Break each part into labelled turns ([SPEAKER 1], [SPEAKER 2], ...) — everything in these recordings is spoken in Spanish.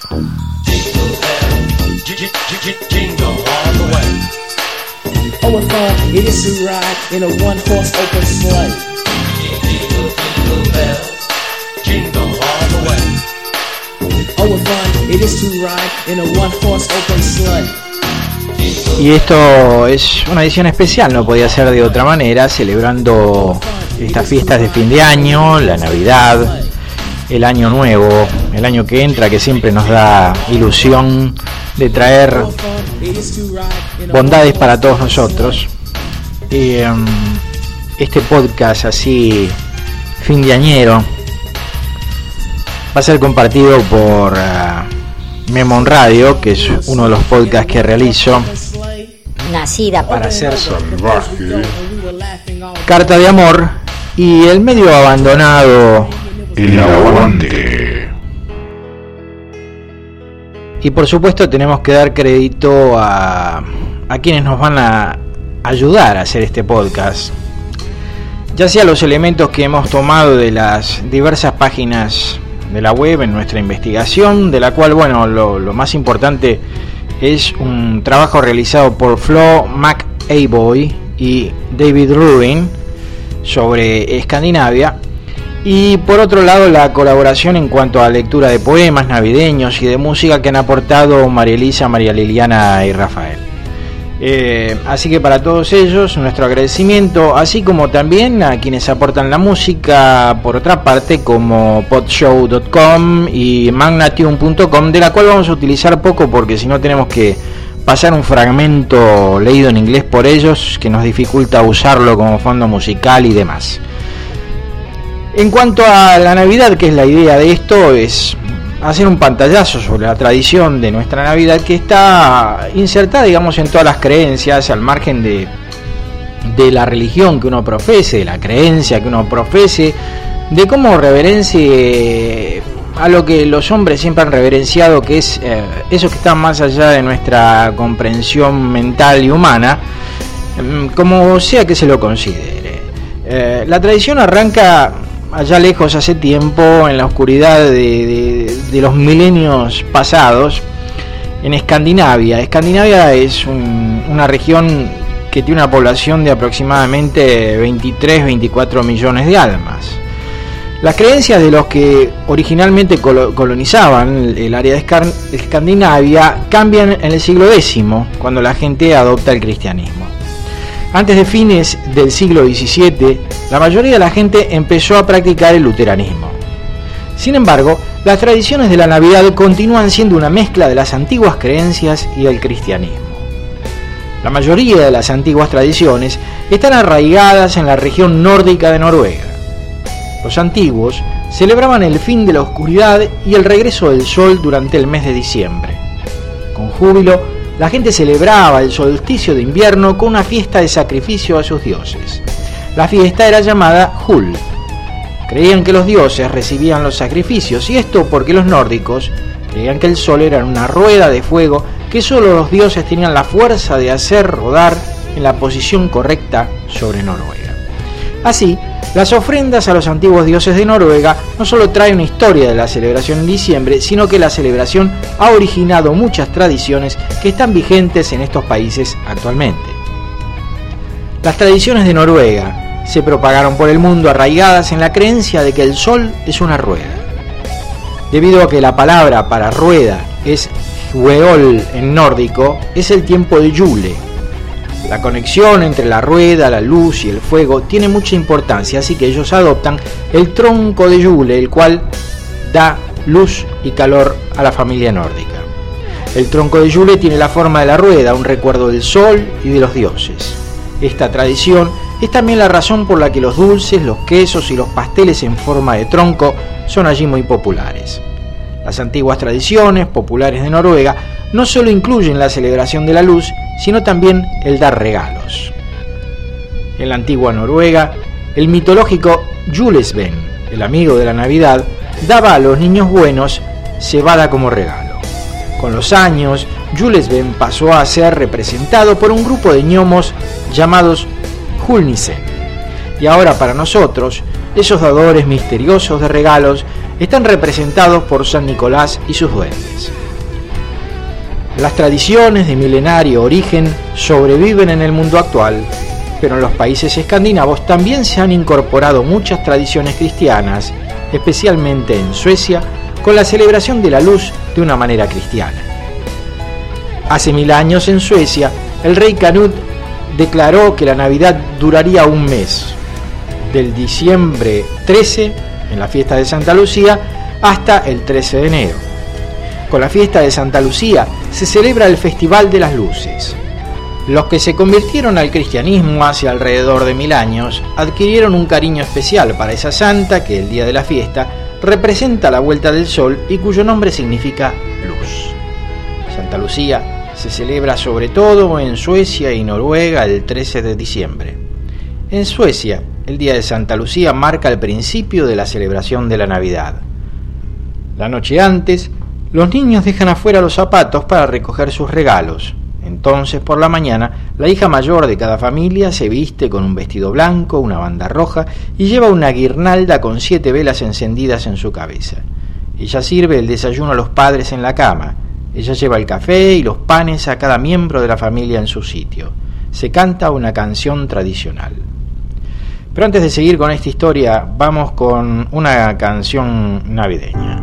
[SPEAKER 1] Oh, what fun it is to ride in a one-horse open sleigh. Jingle bells, jingle all the way. Oh, what fun it is to ride in a one-horse open sleigh.
[SPEAKER 2] Y esto es una edición especial, no podía ser de otra manera, celebrando estas fiestas de fin de año, la Navidad, el año nuevo, el año que entra, que siempre nos da ilusión de traer bondades para todos nosotros. Y este podcast así fin de añero va a ser compartido por Memon Radio, que es uno de los podcasts que realizo.
[SPEAKER 3] Nacida
[SPEAKER 2] para ser salvaje, Carta de Amor y el medio abandonado
[SPEAKER 4] El Aguante.
[SPEAKER 2] Y por supuesto tenemos que dar crédito a quienes nos van a ayudar a hacer este podcast, ya sea los elementos que hemos tomado de las diversas páginas de la web en nuestra investigación, de la cual, bueno, lo más importante es un trabajo realizado por Flo McAvoy y David Ruin sobre Escandinavia, y por otro lado la colaboración en cuanto a lectura de poemas navideños y de música que han aportado María Elisa, María Liliana y Rafael. Así que para todos ellos nuestro agradecimiento, así como también a quienes aportan la música por otra parte, como podshow.com y magnatune.com, de la cual vamos a utilizar poco porque si no tenemos que pasar un fragmento leído en inglés por ellos que nos dificulta usarlo como fondo musical y demás. En cuanto a la Navidad, que es la idea de esto, es hacer un pantallazo sobre la tradición de nuestra Navidad, que está insertada, digamos, en todas las creencias, al margen de la religión que uno profese, de la creencia que uno profese, de cómo reverencie a lo que los hombres siempre han reverenciado, que es eso que está más allá de nuestra comprensión mental y humana, como sea que se lo considere. La tradición arranca allá lejos, hace tiempo, en la oscuridad de los milenios pasados, en Escandinavia. Escandinavia es una región que tiene una población de aproximadamente 23-24 millones de almas. Las creencias de los que originalmente colonizaban el área de Escandinavia cambian en el siglo X, cuando la gente adopta el cristianismo. Antes de fines del siglo XVII, la mayoría de la gente empezó a practicar el luteranismo. Sin embargo, las tradiciones de la Navidad continúan siendo una mezcla de las antiguas creencias y el cristianismo. La mayoría de las antiguas tradiciones están arraigadas en la región nórdica de Noruega. Los antiguos celebraban el fin de la oscuridad y el regreso del sol durante el mes de diciembre. Con júbilo, la gente celebraba el solsticio de invierno con una fiesta de sacrificio a sus dioses. La fiesta era llamada Jul. Creían que los dioses recibían los sacrificios, y esto porque los nórdicos creían que el sol era una rueda de fuego que solo los dioses tenían la fuerza de hacer rodar en la posición correcta sobre Noruega. Así, las ofrendas a los antiguos dioses de Noruega no solo traen una historia de la celebración en diciembre, sino que la celebración ha originado muchas tradiciones que están vigentes en estos países actualmente. Las tradiciones de Noruega se propagaron por el mundo arraigadas en la creencia de que el sol es una rueda. Debido a que la palabra para rueda es hueol en nórdico, es el tiempo de Yule. La conexión entre la rueda, la luz y el fuego tiene mucha importancia, así que ellos adoptan el tronco de Yule, el cual da luz y calor a la familia nórdica. El tronco de Yule tiene la forma de la rueda, un recuerdo del sol y de los dioses. Esta tradición es también la razón por la que los dulces, los quesos y los pasteles en forma de tronco son allí muy populares. Las antiguas tradiciones populares de Noruega no solo incluyen la celebración de la luz, sino también el dar regalos. En la antigua Noruega, el mitológico Julesven, el amigo de la Navidad, daba a los niños buenos cebada como regalo. Con los años, Julesven pasó a ser representado por un grupo de gnomos llamados Julnisen. Y ahora para nosotros, esos dadores misteriosos de regalos están representados por San Nicolás y sus duendes. Las tradiciones de milenario origen sobreviven en el mundo actual, pero en los países escandinavos también se han incorporado muchas tradiciones cristianas, especialmente en Suecia, con la celebración de la luz de una manera cristiana. Hace 1000 años en Suecia, el rey Canut declaró que la Navidad duraría un mes, del diciembre 13, en la fiesta de Santa Lucía, hasta el 13 de enero. Con la fiesta de Santa Lucía se celebra el Festival de las Luces. Los que se convirtieron al cristianismo hace alrededor de 1000 años adquirieron un cariño especial para esa santa que el día de la fiesta representa la vuelta del sol y cuyo nombre significa luz. Santa Lucía se celebra sobre todo en Suecia y Noruega el 13 de diciembre. En Suecia, el día de Santa Lucía marca el principio de la celebración de la Navidad. La noche antes, los niños dejan afuera los zapatos para recoger sus regalos. Entonces, por la mañana, la hija mayor de cada familia se viste con un vestido blanco, una banda roja y lleva una guirnalda con 7 velas encendidas en su cabeza. Ella sirve el desayuno a los padres en la cama. Ella lleva el café y los panes a cada miembro de la familia en su sitio. Se canta una canción tradicional. Pero antes de seguir con esta historia, vamos con una canción navideña.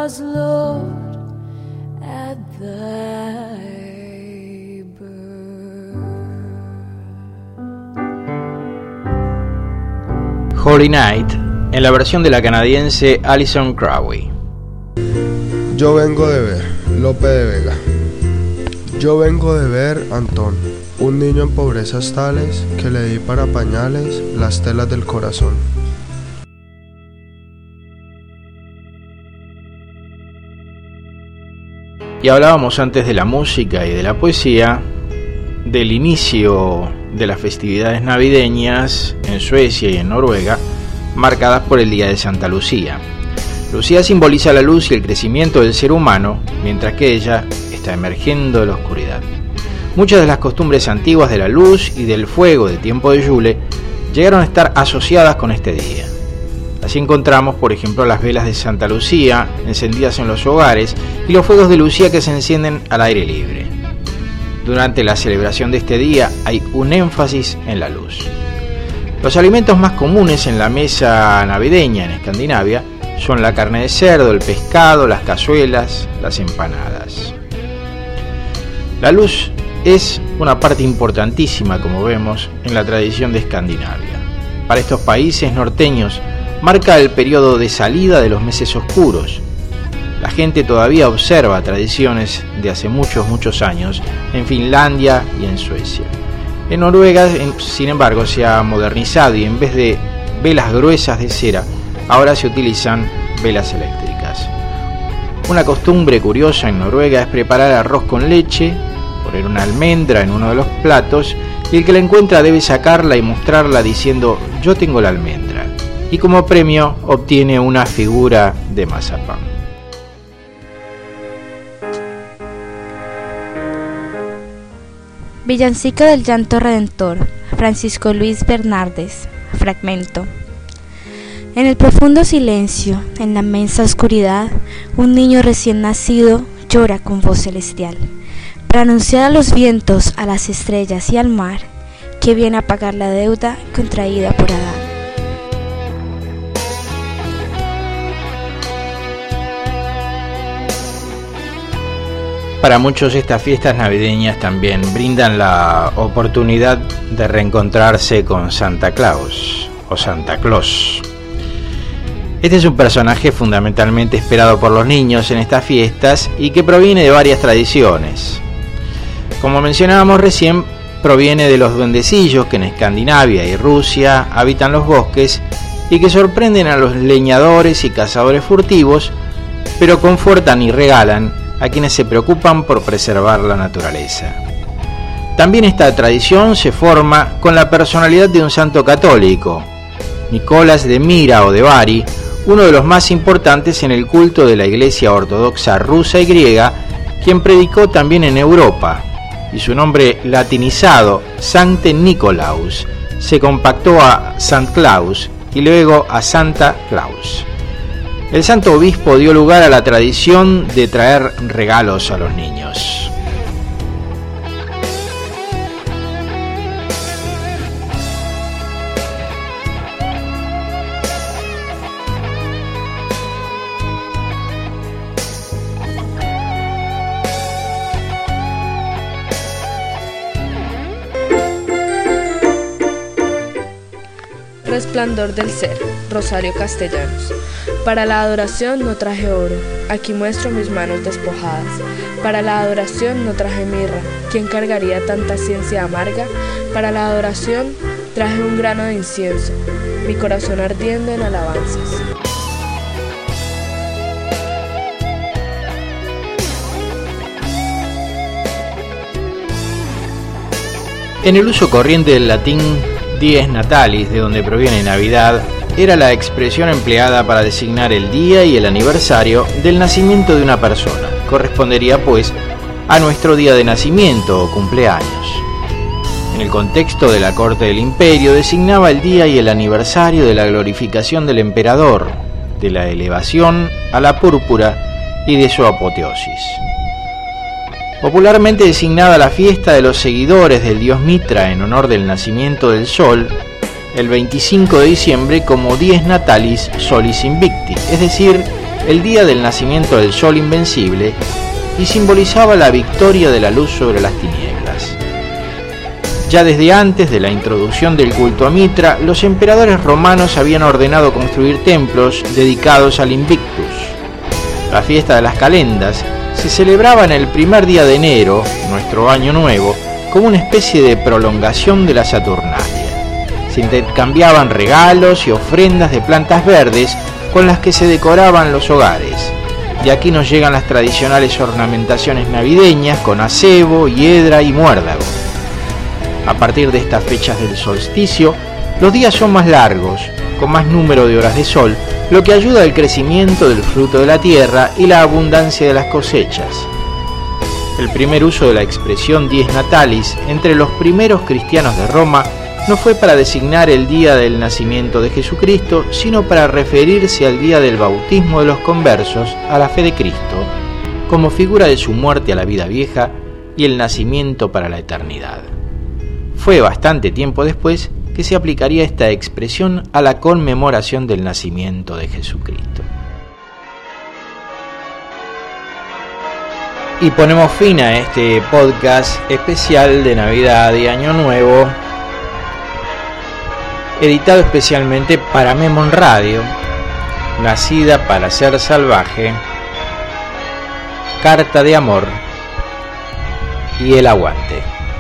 [SPEAKER 5] was Lord at thy birth.
[SPEAKER 2] Holy Night, en la versión de la canadiense Alison Crowley.
[SPEAKER 6] Yo vengo de ver, Lope de Vega. Yo vengo de ver, Antón, un niño en pobrezas tales que le di para pañales las telas del corazón.
[SPEAKER 2] Y hablábamos antes de la música y de la poesía, del inicio de las festividades navideñas en Suecia y en Noruega, marcadas por el Día de Santa Lucía. Lucía simboliza la luz y el crecimiento del ser humano, mientras que ella está emergiendo de la oscuridad. Muchas de las costumbres antiguas de la luz y del fuego de tiempo de Yule llegaron a estar asociadas con este día. Así encontramos, por ejemplo, las velas de Santa Lucía encendidas en los hogares y los fuegos de Lucía que se encienden al aire libre. Durante la celebración de este día hay un énfasis en la luz. Los alimentos más comunes en la mesa navideña en Escandinavia son la carne de cerdo, el pescado, las cazuelas, las empanadas. La luz es una parte importantísima, como vemos, en la tradición de Escandinavia. Para estos países norteños, marca el periodo de salida de los meses oscuros. La gente todavía observa tradiciones de hace muchos años en Finlandia y en Suecia. En Noruega, sin embargo, se ha modernizado y en vez de velas gruesas de cera, ahora se utilizan velas eléctricas. Una costumbre curiosa en Noruega es preparar arroz con leche, poner una almendra en uno de los platos y el que la encuentra debe sacarla y mostrarla diciendo «yo tengo la almendra». Y como premio obtiene una figura de mazapán.
[SPEAKER 7] Villancico del Llanto Redentor, Francisco Luis Bernardes, fragmento. En el profundo silencio, en la inmensa oscuridad, un niño recién nacido llora con voz celestial, para anunciar a los vientos, a las estrellas y al mar, que viene a pagar la deuda contraída por Adán.
[SPEAKER 2] Para muchos estas fiestas navideñas también brindan la oportunidad de reencontrarse con Santa Claus o Santa Claus. Este es un personaje fundamentalmente esperado por los niños en estas fiestas y que proviene de varias tradiciones. Como mencionábamos recién, proviene de los duendecillos que en Escandinavia y Rusia habitan los bosques y que sorprenden a los leñadores y cazadores furtivos, pero confortan y regalan a quienes se preocupan por preservar la naturaleza. También esta tradición se forma con la personalidad de un santo católico, Nicolás de Mira o de Bari, uno de los más importantes en el culto de la Iglesia Ortodoxa rusa y griega, quien predicó también en Europa, y su nombre latinizado, Sancte Nicolaus, se compactó a Sant Claus y luego a Santa Claus. El santo obispo dio lugar a la tradición de traer regalos a los niños.
[SPEAKER 8] Resplandor del ser, Rosario Castellanos. Para la adoración no traje oro, aquí muestro mis manos despojadas. Para la adoración no traje mirra, ¿quién cargaría tanta ciencia amarga? Para la adoración traje un grano de incienso, mi corazón ardiendo en alabanzas.
[SPEAKER 2] En el uso corriente del latín, Dies Natalis, de donde proviene Navidad, era la expresión empleada para designar el día y el aniversario del nacimiento de una persona. Correspondería, pues, a nuestro día de nacimiento o cumpleaños. En el contexto de la corte del imperio, designaba el día y el aniversario de la glorificación del emperador, de la elevación a la púrpura y de su apoteosis. Popularmente designada la fiesta de los seguidores del dios Mitra en honor del nacimiento del sol, el 25 de diciembre como Dies Natalis Solis Invicti, es decir, el día del nacimiento del sol invencible y simbolizaba la victoria de la luz sobre las tinieblas. Ya desde antes de la introducción del culto a Mitra, los emperadores romanos habían ordenado construir templos dedicados al Invictus. La fiesta de las calendas se celebraba en el primer día de enero, nuestro año nuevo, como una especie de prolongación de la Saturnalia. Se intercambiaban regalos y ofrendas de plantas verdes con las que se decoraban los hogares. De aquí nos llegan las tradicionales ornamentaciones navideñas con acebo, hiedra y muérdago. A partir de estas fechas del solsticio, los días son más largos, con más número de horas de sol, lo que ayuda al crecimiento del fruto de la tierra y la abundancia de las cosechas. El primer uso de la expresión dies natalis entre los primeros cristianos de Roma no fue para designar el día del nacimiento de Jesucristo, sino para referirse al día del bautismo de los conversos a la fe de Cristo, como figura de su muerte a la vida vieja y el nacimiento para la eternidad. Fue bastante tiempo después que se aplicaría esta expresión a la conmemoración del nacimiento de Jesucristo. Y ponemos fin a este podcast especial de Navidad y Año Nuevo, editado especialmente para Memon Radio, Nacida para ser salvaje, Carta de amor y El aguante.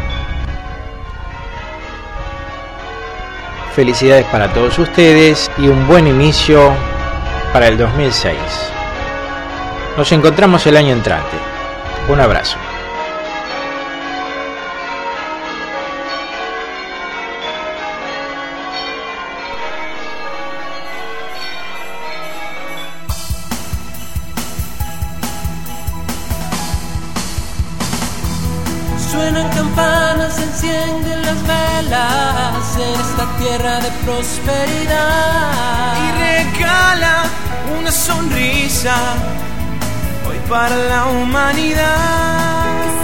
[SPEAKER 2] Felicidades para todos ustedes y un buen inicio para el 2006. Nos encontramos el año entrante. Un abrazo.
[SPEAKER 9] Suenan campanas, se encienden las velas en esta tierra de prosperidad y regala una sonrisa hoy para la humanidad.